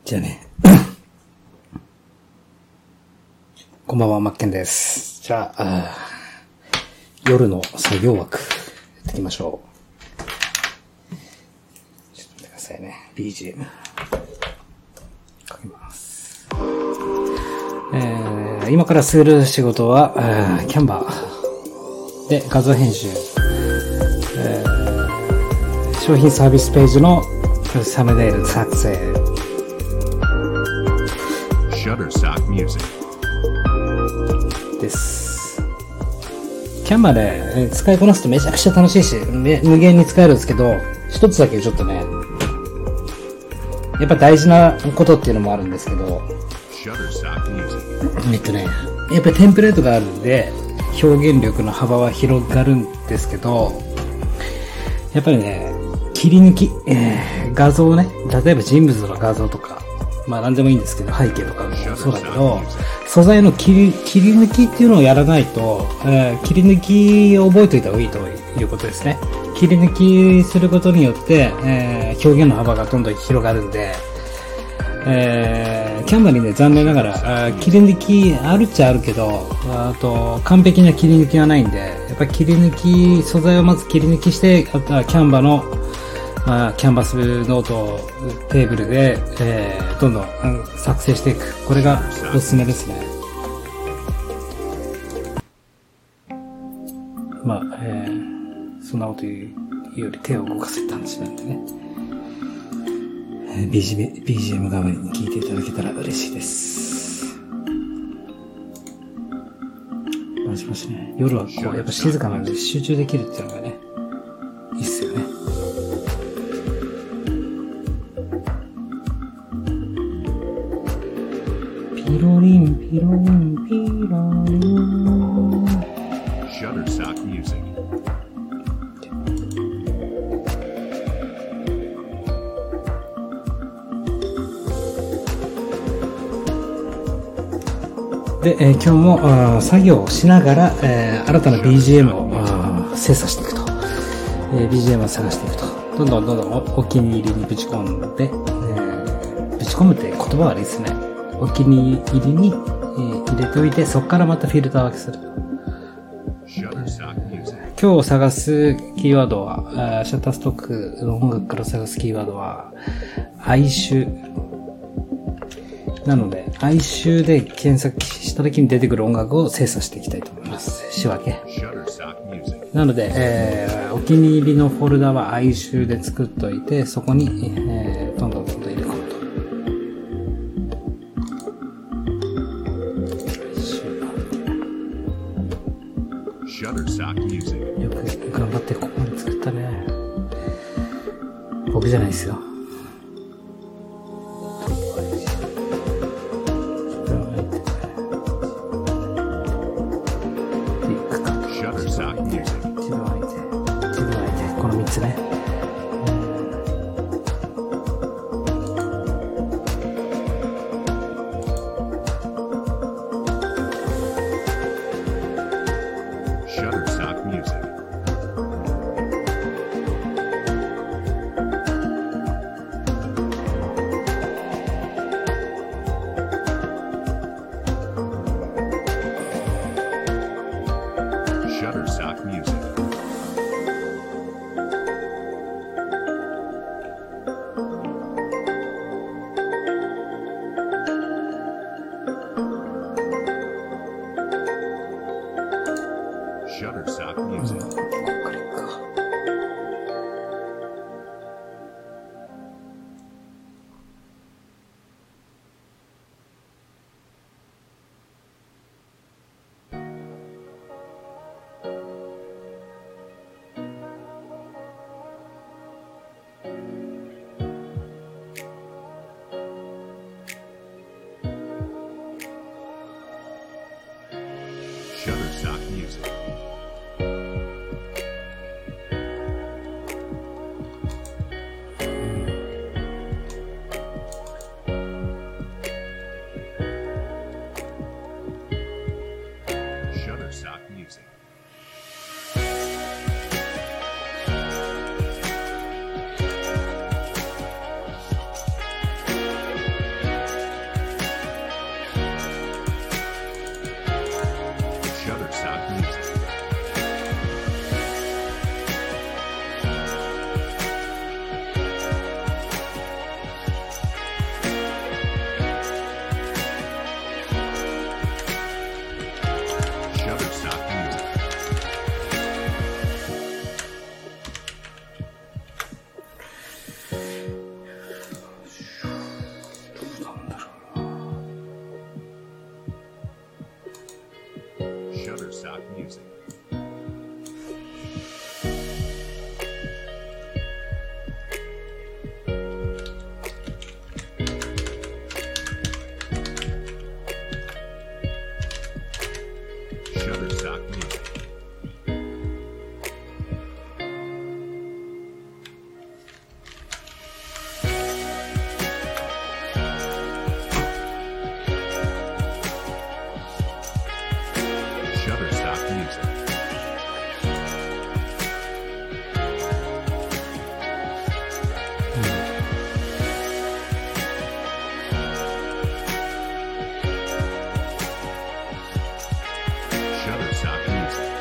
じゃあね。こんばんは、マッケンです。じゃあ、夜の作業枠、やっていきましょう。ちょっと待ってくださいね。BGM。かけます。今からする仕事は、キャンバーで画像編集。商品サービスページのサムネイル作成。 Shutterstock Music です。キャンバーで使いこなすとめちゃくちゃ楽しいし、無限に使えるんですけど、一つだけちょっとね、やっぱ大事なことっていうのもあるんですけど、やっぱりテンプレートがあるんで、表現力の幅は広がるんですけど、やっぱりね、切り抜き、画像ね、例えば人物の画像とか、まあ何でもいいんですけど、背景とかもそうだけど、素材の切り抜きっていうのをやらないと、切り抜きを覚えておいた方がいいということですね。切り抜きすることによって、表現の幅がどんどん広がるんで、キャンバーにね、残念ながら、切り抜きあるっちゃあるけど、あと、完璧な切り抜きはないんで、やっぱり切り抜き、素材をまず切り抜きして、あとはキャンバーの、キャンバスノートテーブルで、どんどん、作成していく。これがおすすめですね。まあ、そんなこと言うより手を動かせって話なんでね。BGM 代わりに聞いていただけたら嬉しいです。もしもしね。夜はこう、やっぱ静かなので集中できるっていうのがね、いいっすよね。ピロリンピロリンピロリン Shutterstock Music で、今日も作業をしながら、新たな BGM を精査していくと、BGM を探していくと、どんどんお気に入りにぶち込んで、ぶち込むって言葉は悪いですね。お気に入りに、入れておいて、そこからまたフィルター分けする。今日探すキーワードは、シャッターストックの音楽から探すキーワードは、哀愁。なので、哀愁で検索した時に出てくる音楽を精査していきたいと思います。仕分け。なので、お気に入りのフォルダは哀愁で作っておいて、そこに、どんどん入れ込むと。よく頑張ってここまで作ったね。僕じゃないですよ。この3つね。 Shutterstock Music Shutterstock Music Shutterstock Music Music. Shutterstock Music. Shutterstock Music. Shutterstock Music.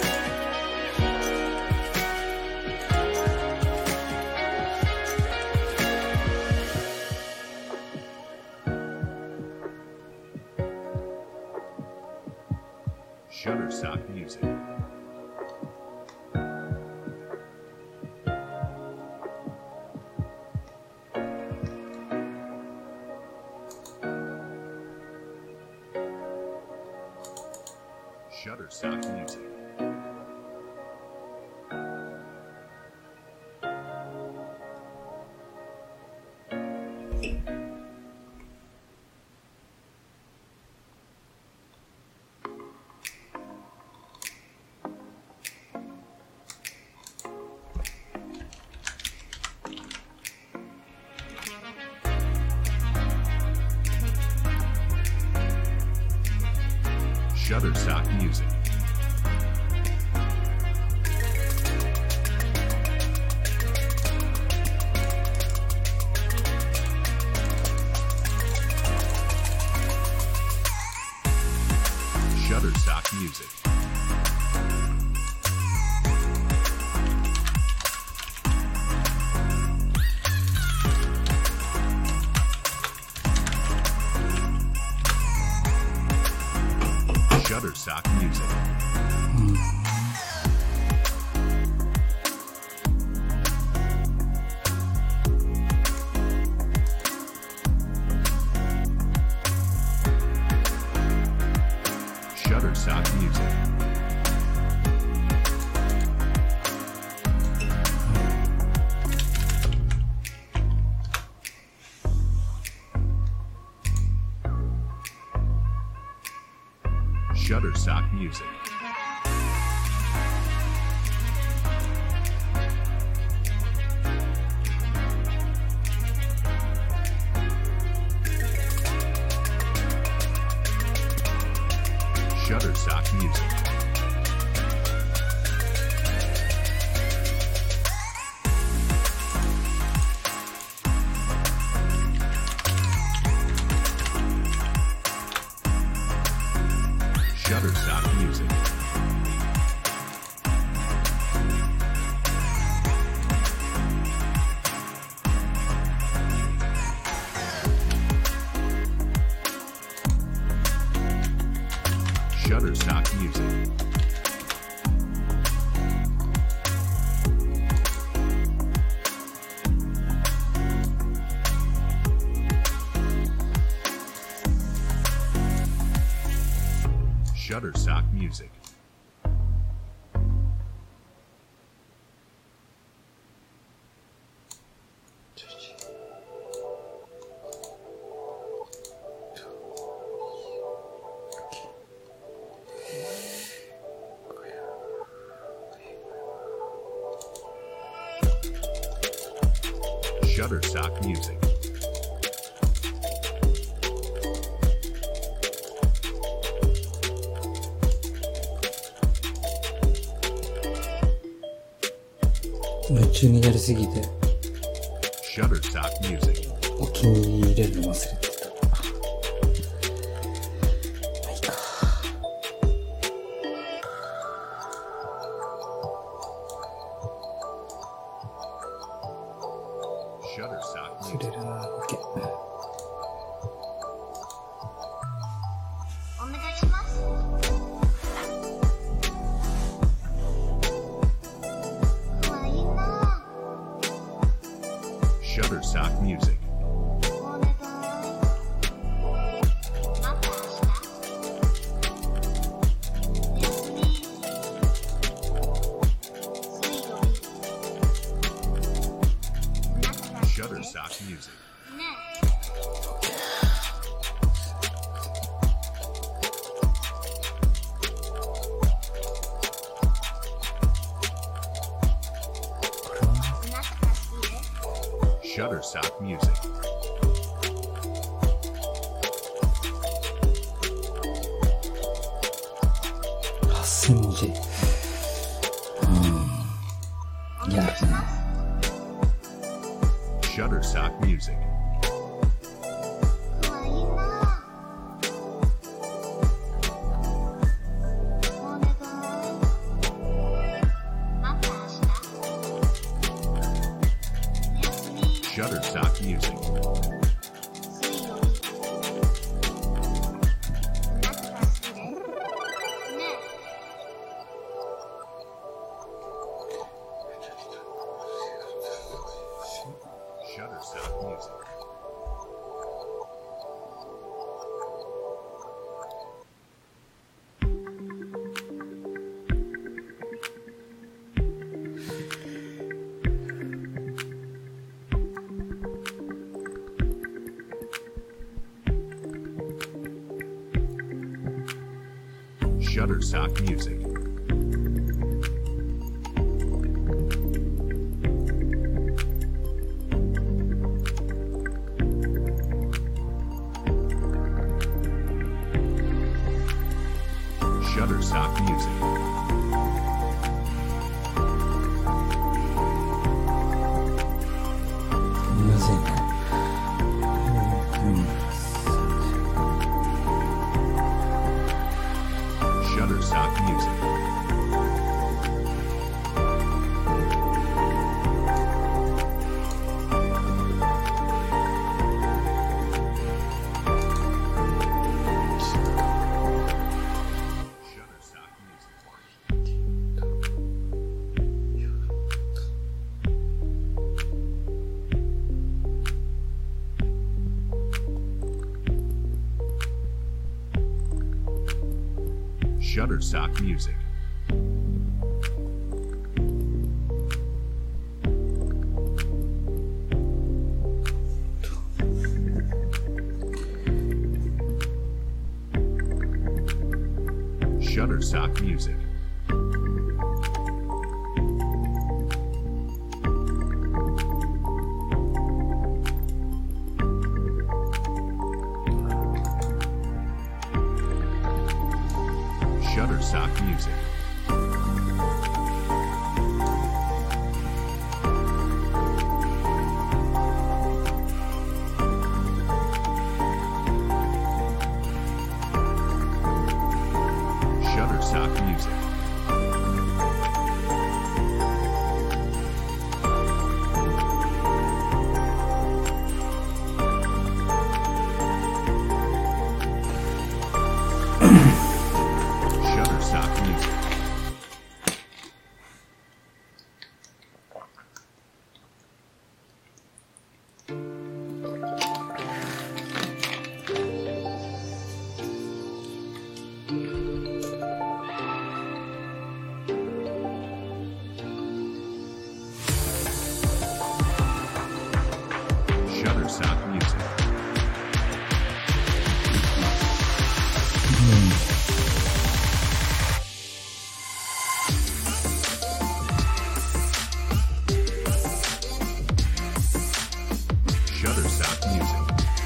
Shutterstock Music. Shutterstock Music. Shutterstock Music. Shutterstock Music. Shutterstock Music. Shutterstock Music. Shutterstock Music. Shutterstock Music. Shutterstock Music. Shutterstock Music. Shutterstock Music. Shutterstock Music. 夢中になりすぎて Shutterstock Music. お気に入れるの忘れてた。まあいいか。 Shutterstock 触 Music. れるな。OK。 お願いします。可愛いな。 Shutterstock Music. お願い。また明日。おやすみ。 Shutterstock Music. ねこれはえ、懐かしいね。 Shutterstock Music. 8000文字。いや、 Shutterstock Music. かわいいな。お願い。また明日。おやすみ。 Shutterstock Music. 水曜日。懐かしいね。ね Shutterstock Music. Shutterstock Music. Shutterstock Music. むずいね。 Shutterstock Music. Shutterstock Music. Shutterstock Music. Shutterstock Music. Shutterstock Music. Shutterstock Music. Shutterstock Music. Shutterstock Music. Shutterstock Music.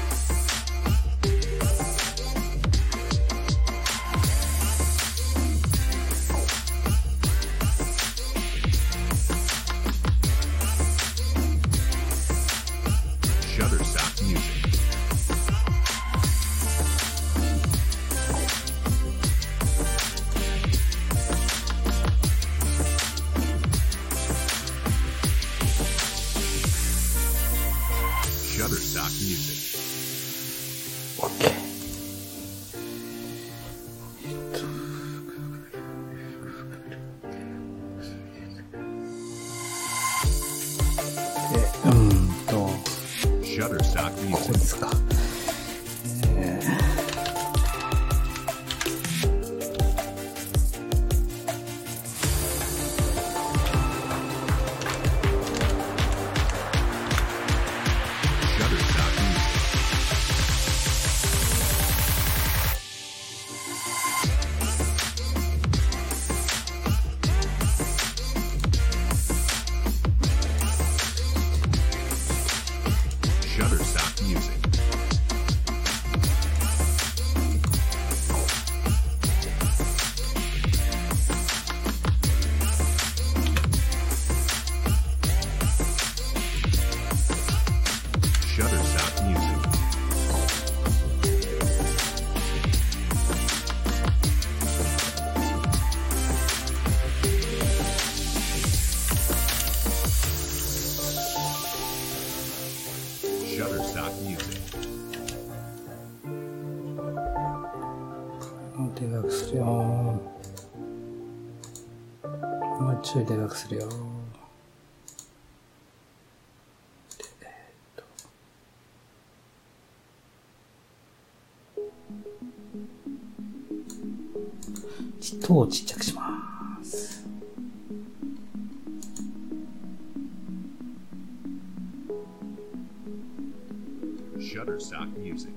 Shutterstock Music. Shutterstock Music. OK。 Shutterstock ここ Music. ですか。 Shutterstock Music. Shutterstock Music. Shutterstock Music. でかくするよ。もうちょいでかくするよ。音をちっちゃくします。 Shutterstock Music.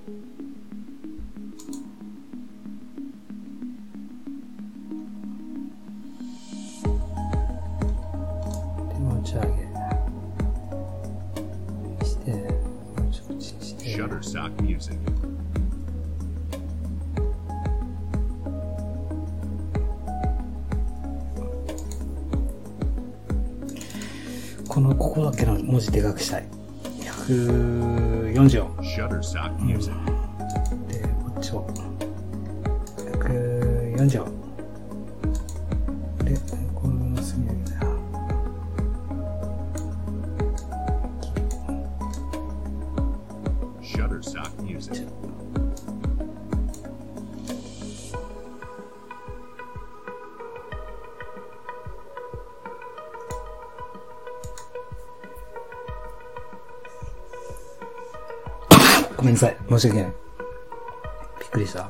で持ち上げしてもうちょっとちして Shutterstock Music. ここだけの文字でかくしたい。140を。 Shutterstock Music. で、こっちを。140を。で、この隅上げだよ。 Shutterstock Music. ごめんなさい。申し訳ない。びっくりした。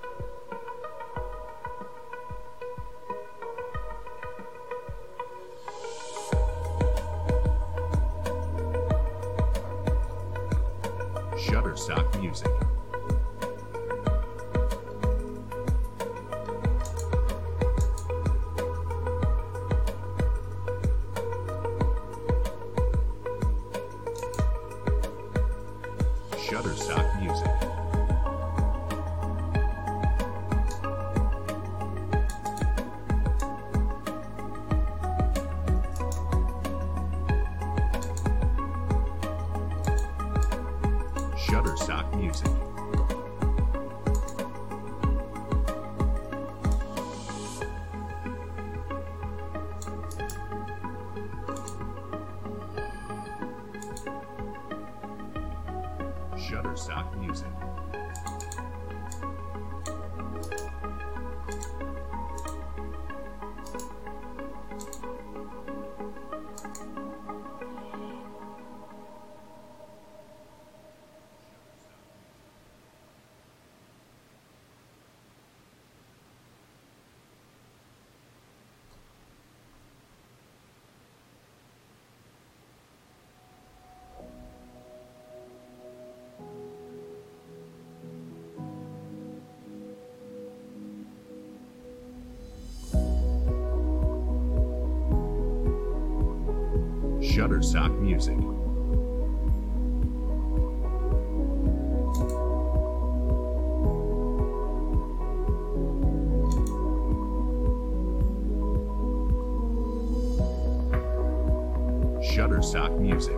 Shutterstock Music. Shutterstock Music. Shutterstock Music. Shutterstock Music. Shutterstock Music. Shutterstock Music.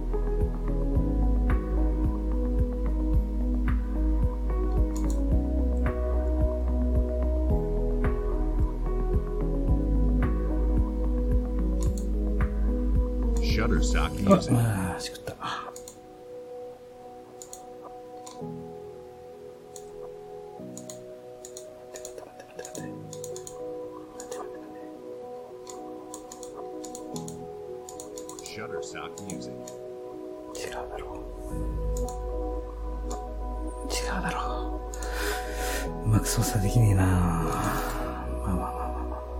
Shutterstock Music. ああ、しくった。 Shutterstock Music. 違うだろう。違うだろう。うまく操作できねえな。まあまあまあまあ。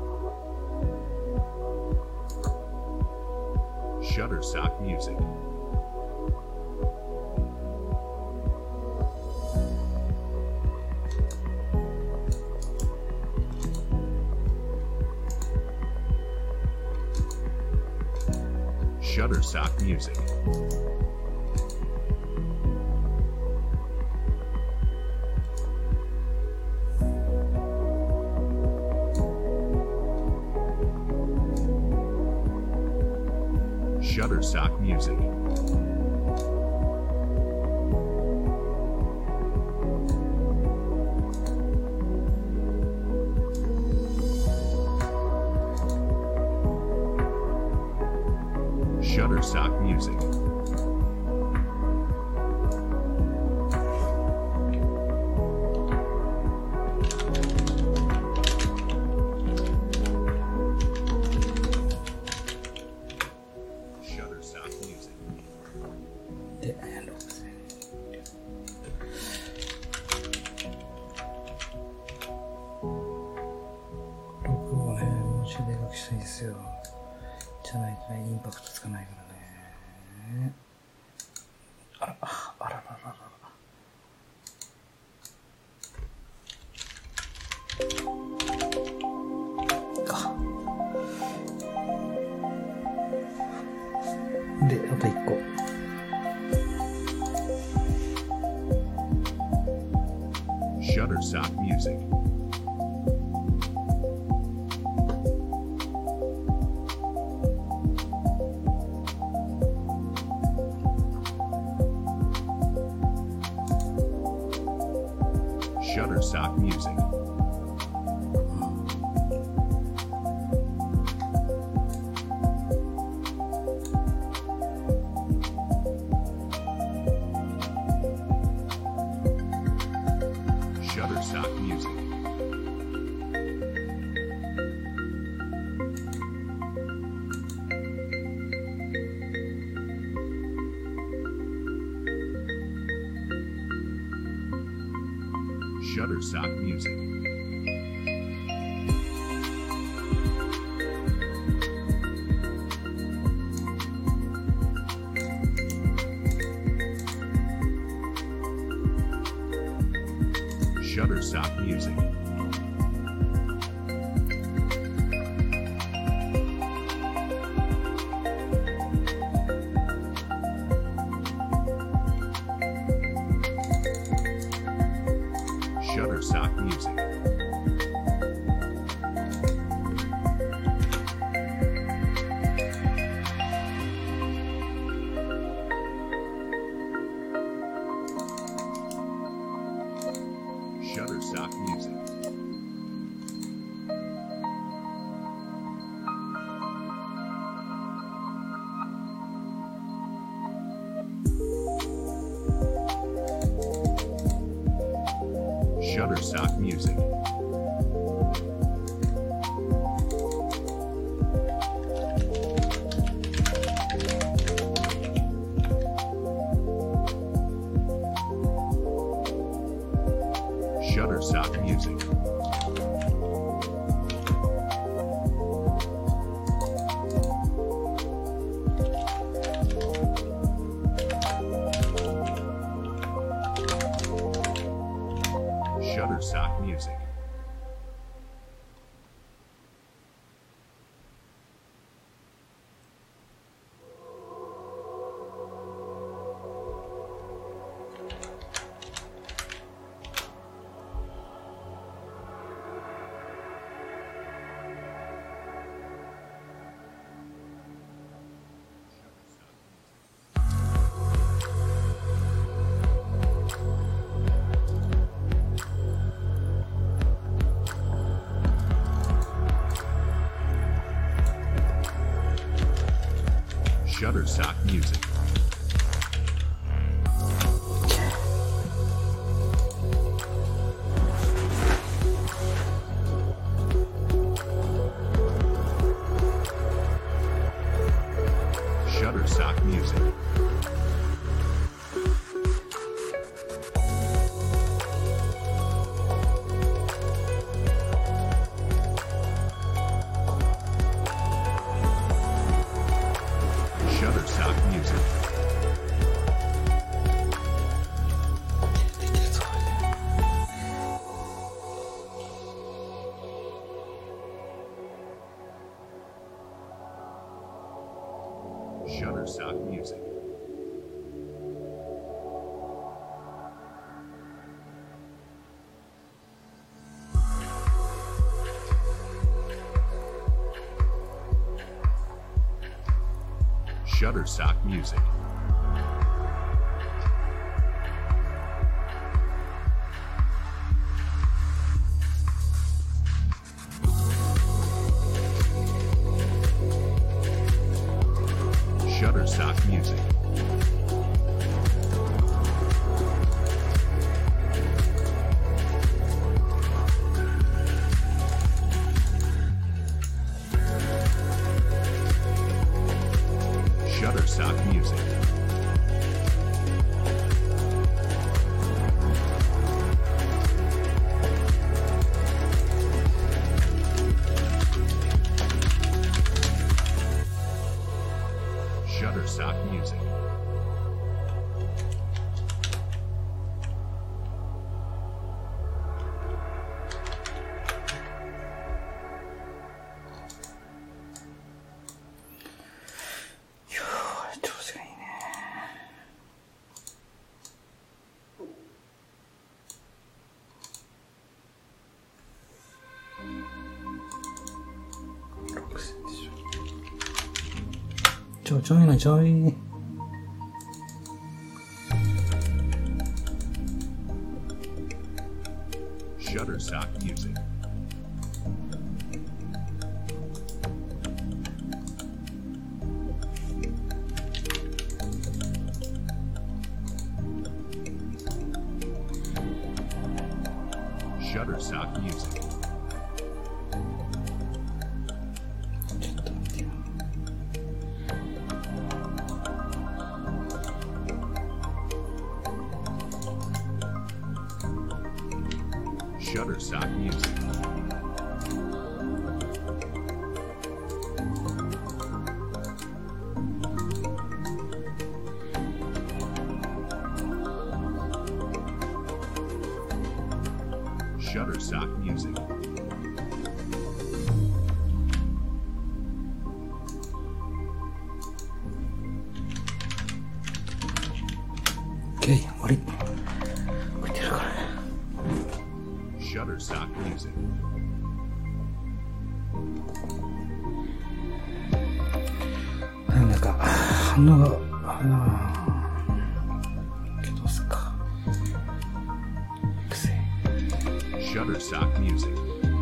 Shutterstock Music. Shutterstock Music. Shutterstock Music. Shutterstock Music. Shutterstock Music. で、6000。録をね、もうちょいでかくしたいんですよ。じゃないとね、インパクトつかないからね。あららららら。か。で、あと1個。 Shutterstock Music. Shutterstock Music. Shutterstock Music. Shutterstock Music. Shutterstock Music. Shutterstock Music. Shutterstock Music. Shutterstock Music. Shutterstock Music. Shutterstock Music. Shutterstock Music. Shutterstock Music. Shutterstock Music. Shutterstock Music. Shutterstock Music. Shutterstock Music. Shutterstock Music. ちょいなちょい。 Shutterstock Music. Shutterstock Music. Shutterstock Music. Shutterstock Music. OK、終わり。置いてるから。 Shutterstock Music. なんか、反応が、どうすっか。癖。 Shutterstock Music.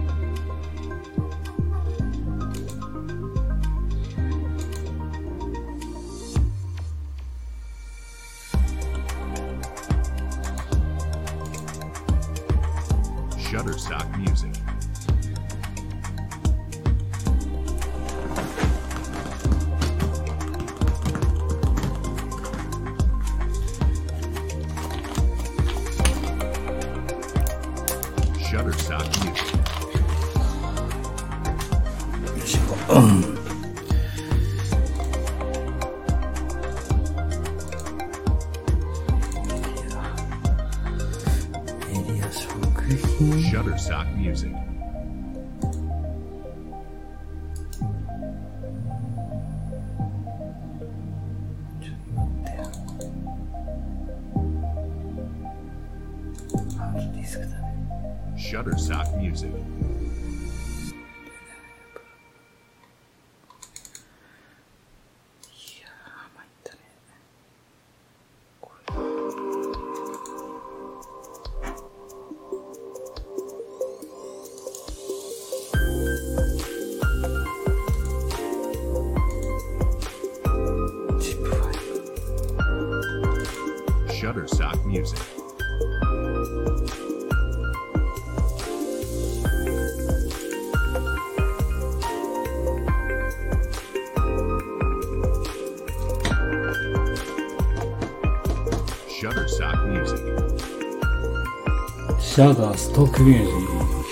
Shutterstock Music. Shutterstock Music. よいしょ。うん。メディア食品。 Shutterstock Music. ちょっと待ってよ。ハードディスクだね。 Shutterstock Music. いやー、参ったね。これ。ジップファイル。 Shutterstock Music. Shutterstock Music. シャダーストックミュージ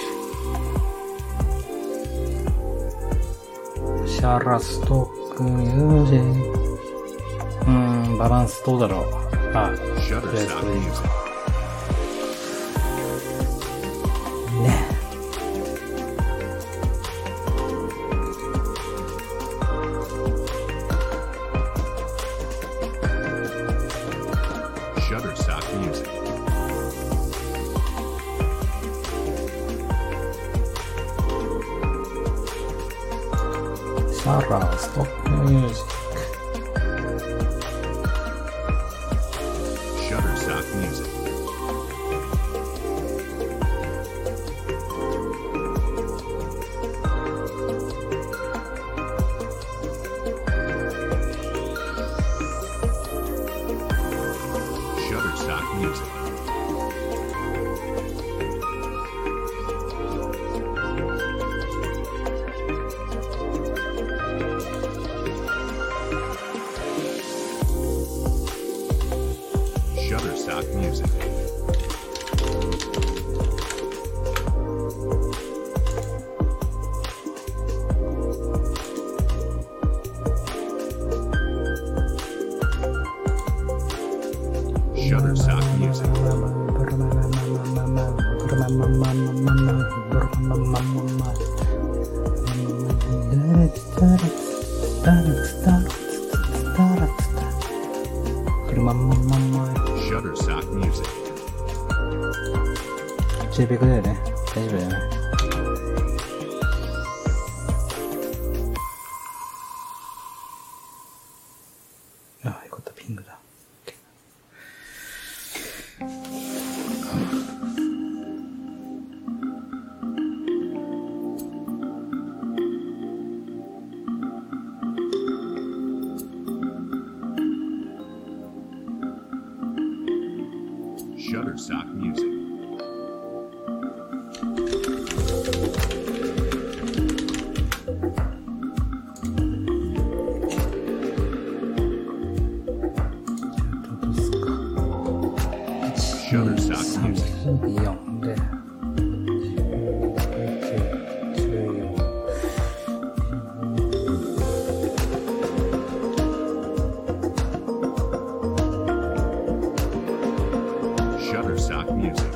ック。シャラストックミュージック。バランスどうだろう。あ、とりあえず Shutterstock これでいいか Music. ね。 Shutterstock Music. シャラストックミュージック。 Music. Shutterstock Music. Shutterstock Music. Shutterstock Music. JPEG だよね。大丈夫だよね。あ、よかった、ピングだ。 Shutterstock Music. Shutterstock Music. 4で。 Shutterstock Music.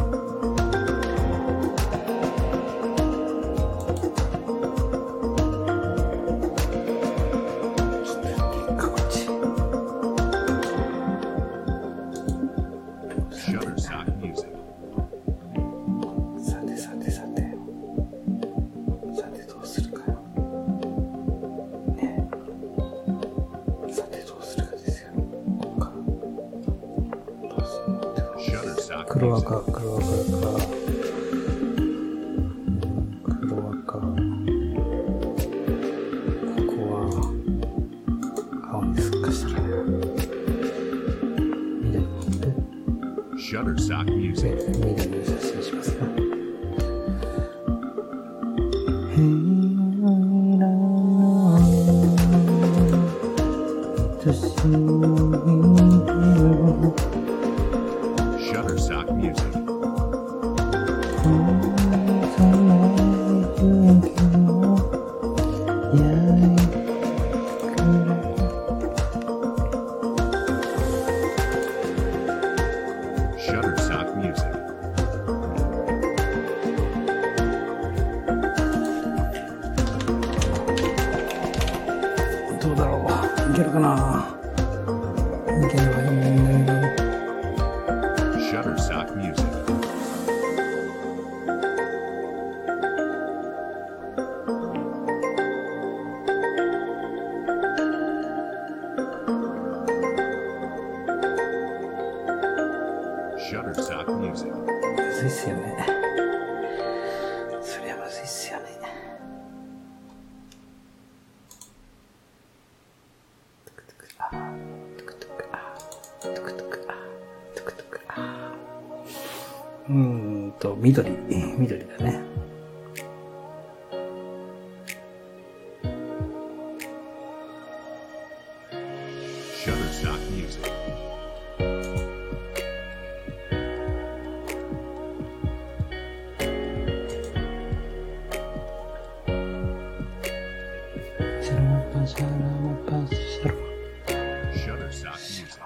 Shutterstock Music. さてさてさて。さてどうするかよ。ねえ。さてどうするかですよ。ここから。どうするのってこと Shutterstock 黒 Music. 赤、黒赤か。黒赤。ここは、青にすっかしたらね。緑で、 Shutterstock Music. 緑の写真しますか。 Shutterstock Music. Shutterstock Music. どうだろう。いけるかな。いければいいんだけど。 Shutterstock Music. Shutterstock Music. むずいっすよね。そりゃむずいっすよね。緑、緑だね。 Shutterstock Music. Shutterstock Music.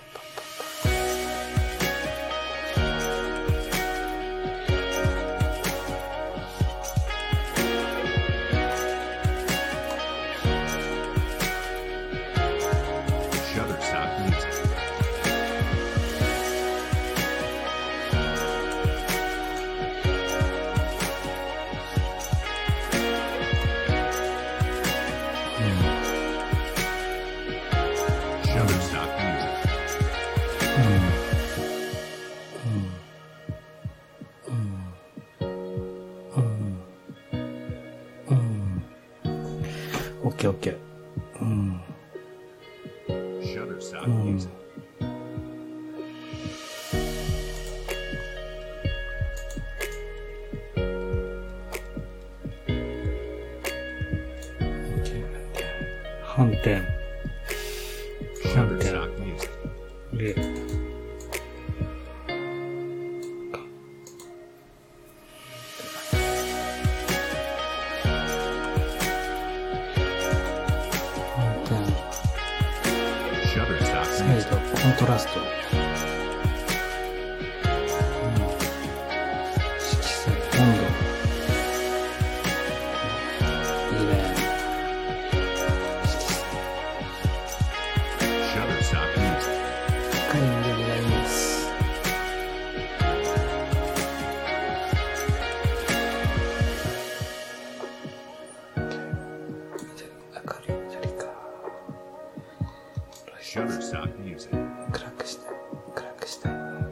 Shutterstock Music. Shutterstock Music. OK。 Shutterstock Music. 点。3点。 Shutterstock Music. で、3点。 Shutterstock サイ Music. ド、コントラスト。色彩、温度。いいね。色彩。 Shutterstock Music. 深い緑がいいです。明るい緑か。 Shutterstock Music. 暗くしたい。暗くしたい。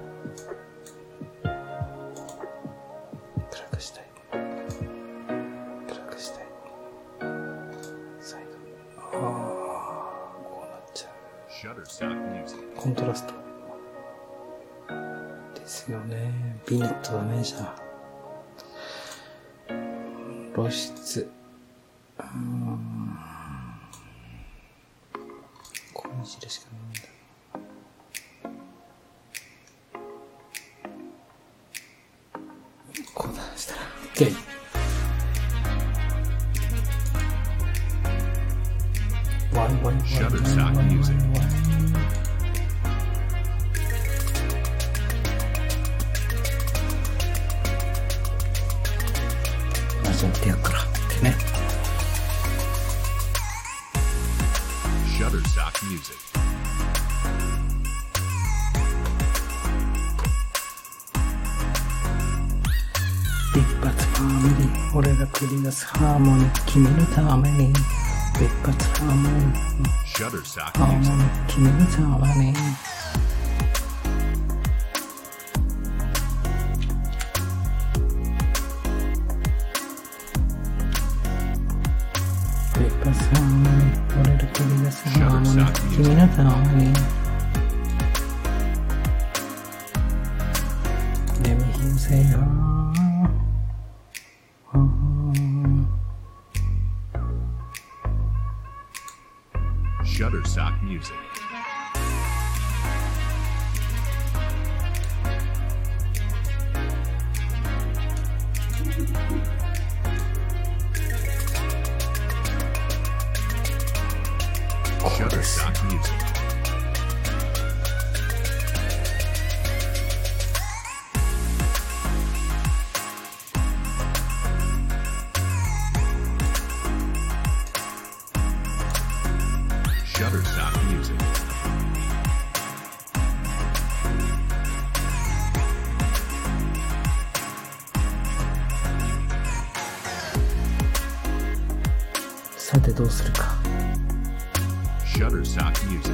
暗くしたい。暗くしたい。サイド。こうなっちゃう。 Shutterstock Music. コントラスト。ですよね。ビネットダメじゃん。露出。こういう印しかないんだ。こうだしたら OK。 Shutterstock Music. マジでやっからってね。 Shutterstock Music. 一発ハーモニー、俺が繰り出すハーモニー、君のために。一発ハーモニー、 Shutterstock ハーモニ Music. ー、君のために。一発ハーモニー、俺が繰り出すハーモニー、君のために。Let me hear you say Shutterstock Music. Shutterstock Music. Shutterstock Music. 「さてどうするか」 Shutterstock Music.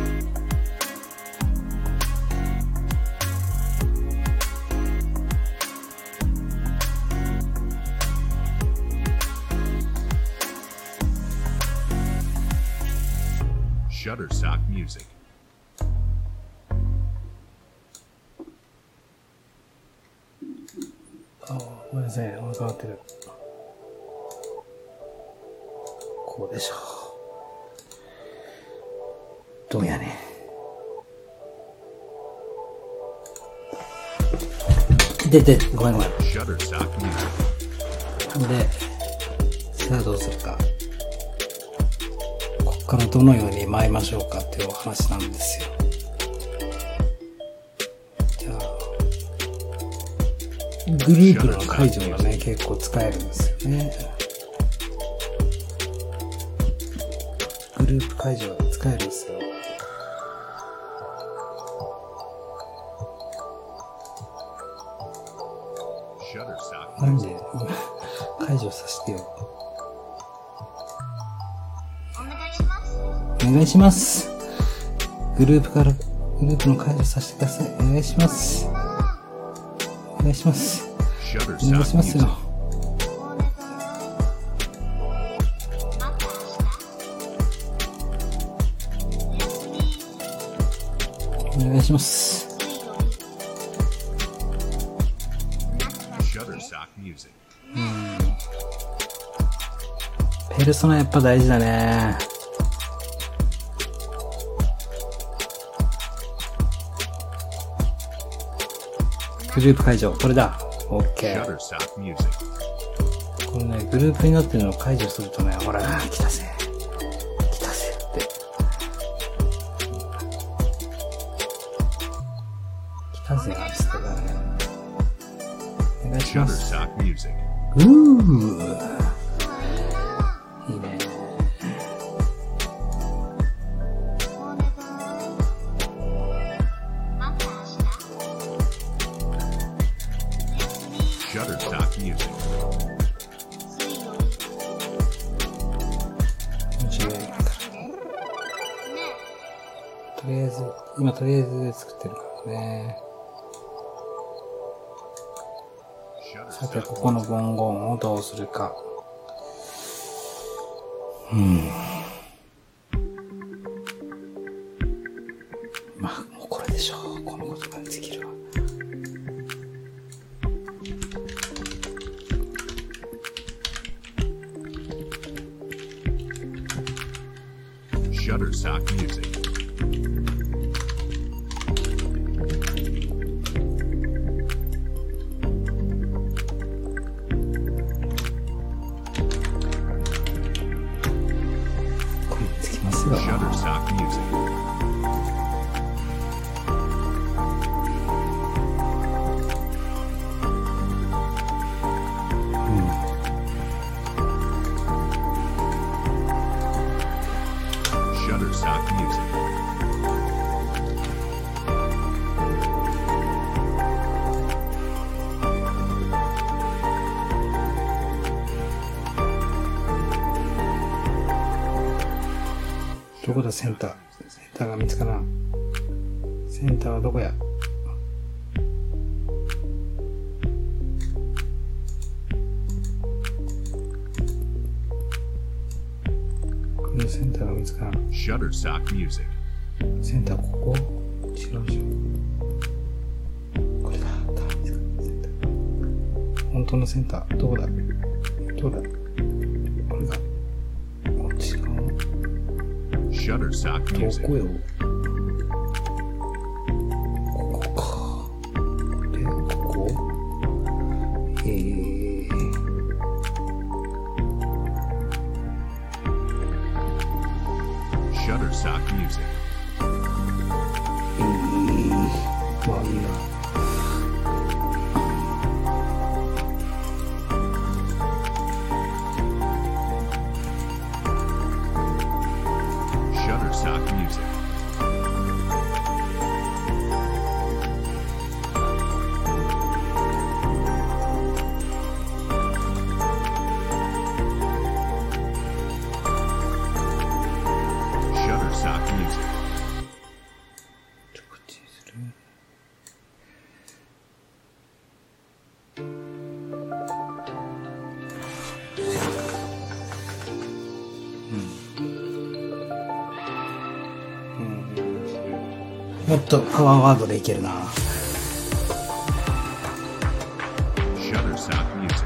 Shutterstock Music. ごめんなさい、お腹鳴ってる。こうでしょう。どうやねん。で、ごめん。 Shutterstock Music. で、さあどうするか。ここからどのように舞いましょうかっていうお話なんですよ。じゃあ、グループの解除がね、結構使えるんですよね。グループ解除が使えるんですよ。 Shutterstock なん Music. で、解除させてよ。 お願いします。 お願いします。グループの解除させてください。お願いします。お願いします。お願い Shutterstock しますよ。 Music. お願いします。 Shutterstock Music. ペルソナやっぱ大事だね。 グループ解除。これだ。OK。 Shutterstock Music. このね、グループになってるのを解除するとね、ほら、来たぜ。来たぜって。来たぜなんですけどね。お願いします。 Shutterstock Music. いいね。 Shutterstock Music. とりあえず、今とりあえずで作ってるからね。さて、ここの文言をどうするか。まあ、もうこれでしょう。この言葉にできるわ。 Shutterstock Music. これつきますよ。 Shutterstock Music. Shutterstock Music. Shutterstock どこだセンター。センターが見つからん。センターはどこや。このセンターが見つからん。 Shutterstock Music. センターここ違うでしょ。これだ。センター。本当のセンター。どこだどうだこれが。こっちか。 Shutterstock ど Music. こよここか。で、ここ Shutterstock Music. まあいいな。 Shutterstock Music. Shutterstock Music. こっちにする。もっとパワーワードでいけるな。 Shutterstock Music.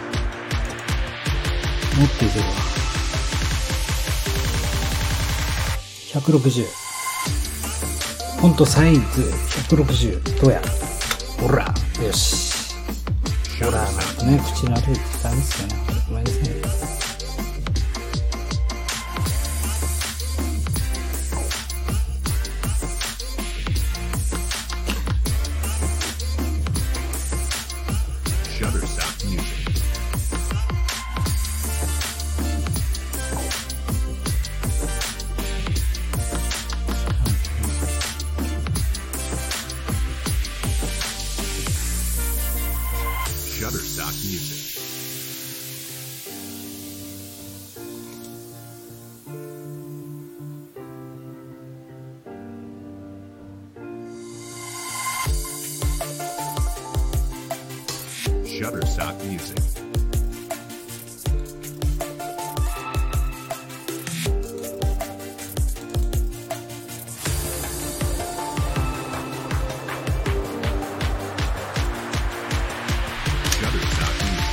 もっといけるわ。160。フォントサイズ160。どうや。ほら。よし。ほら、なんかね、口の悪いダメですよね。ごめんなさい。 Shutterstock Music. Shutterstock Music. Shutterstock Music. Shutterstock Music.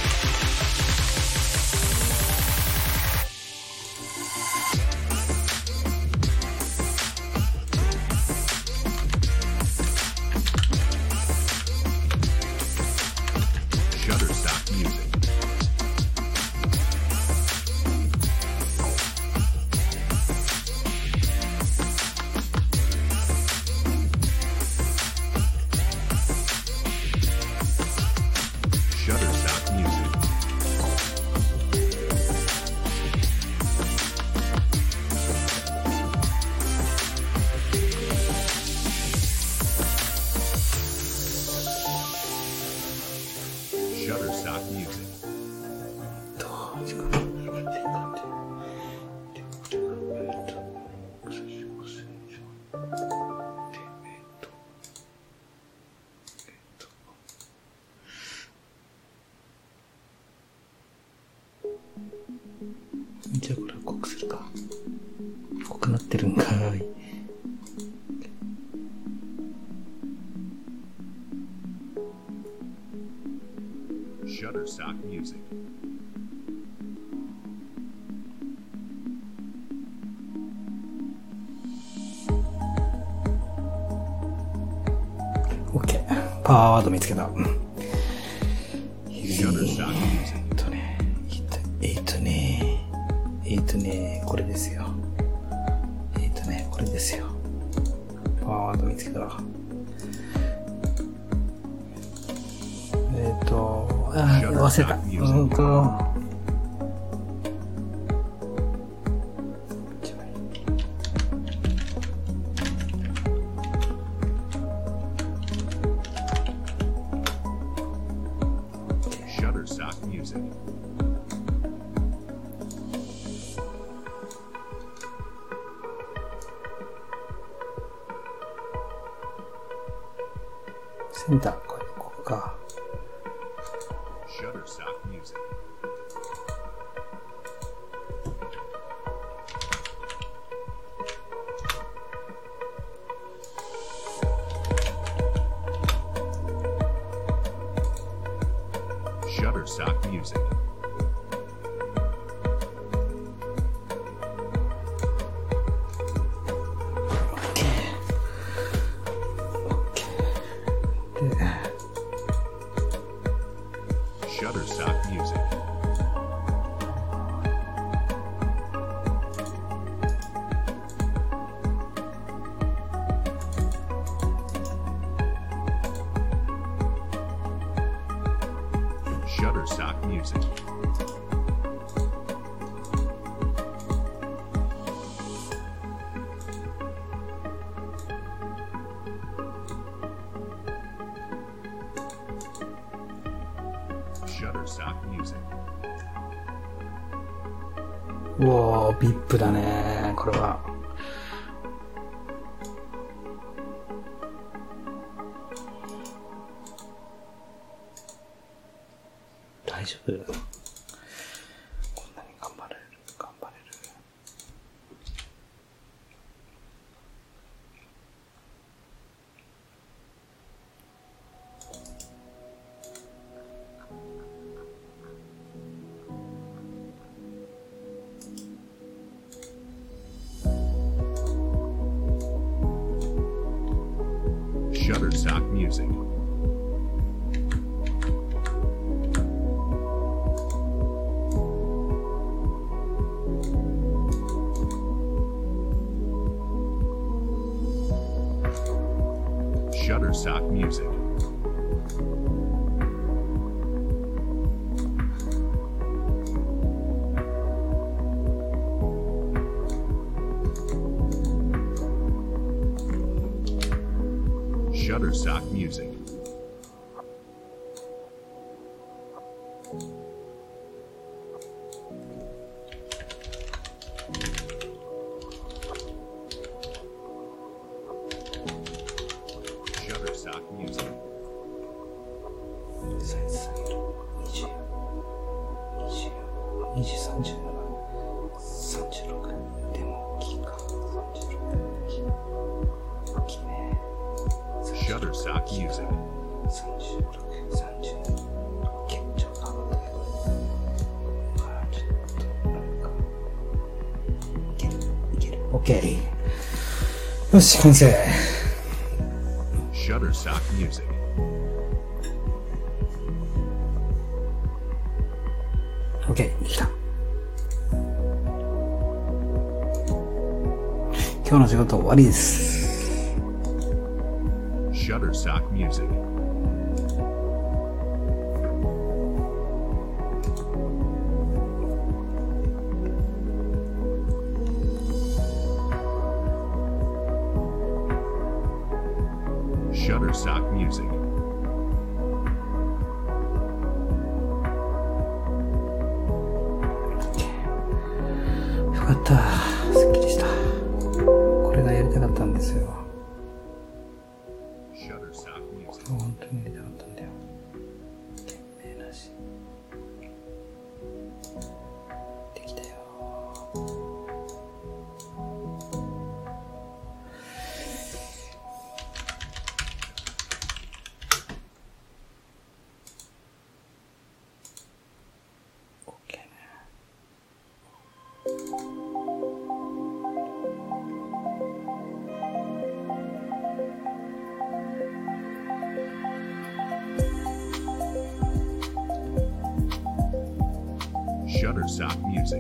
ってるんかい。 Shutterstock Music. OK。パワーワード見つけた。 Shutterstock Music. これですよ。これですよ。パワーワード見つけた。忘れた。 Shutterstock Music. センター、ここか。 Shutterstock Music. Shutterstock Music. Shutterstock Music. Shutterstock Music. Shutterstock Music. うおー、VIP だね、これは。大丈夫？こんなに頑張れる。 Shutterstock Music. Shutterstock Music. Shutterstock Music. Shutterstock Music. 20、37、36。でも大きいか。36。大きいね。 Shutterstock Music. 36、30。結構かかったけど。ちょっと、なんか。いける。OK。よし、完成。 Shutterstock Music. OK、できた。今日の仕事終わりです。 Shutterstock Music. Shutterstock Music. よかった。すっきりした。これがやりたかったんですよ。 Shutterstock Music. 本当にやりたかったんだよ。懸命なし。できたよ。 Shutterstock Music.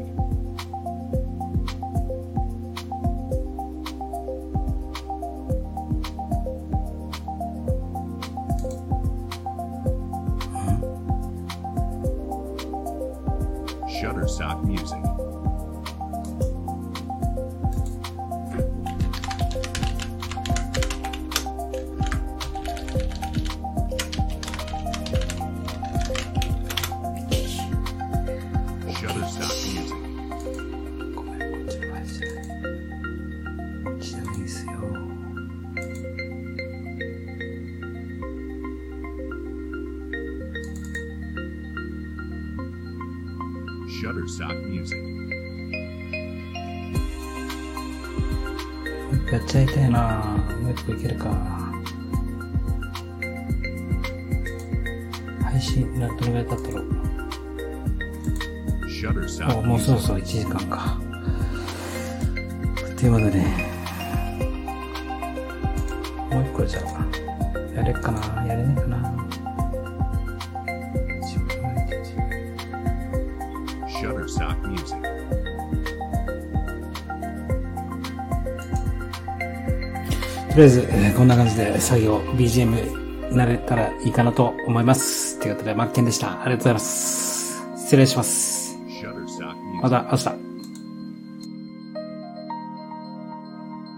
Shutterstock Music. Shutterstock Music. ごめん、こっちの配信。しないですよ。 Shutterstock Music. やっちゃいたいなぁ。もう一個いけるか。配信、どのぐらい経ったろう。 Shutterstock もうそろ Music. そろ1時間か。ということで、もう一個じゃあ、やれっかなやれねえかな。 Shutterstock Music. とりあえず、こんな感じで作業、BGM 慣れたらいいかなと思います。ということで、マッケンでした。ありがとうございます。失礼します。 Shutterstock Music. また明日。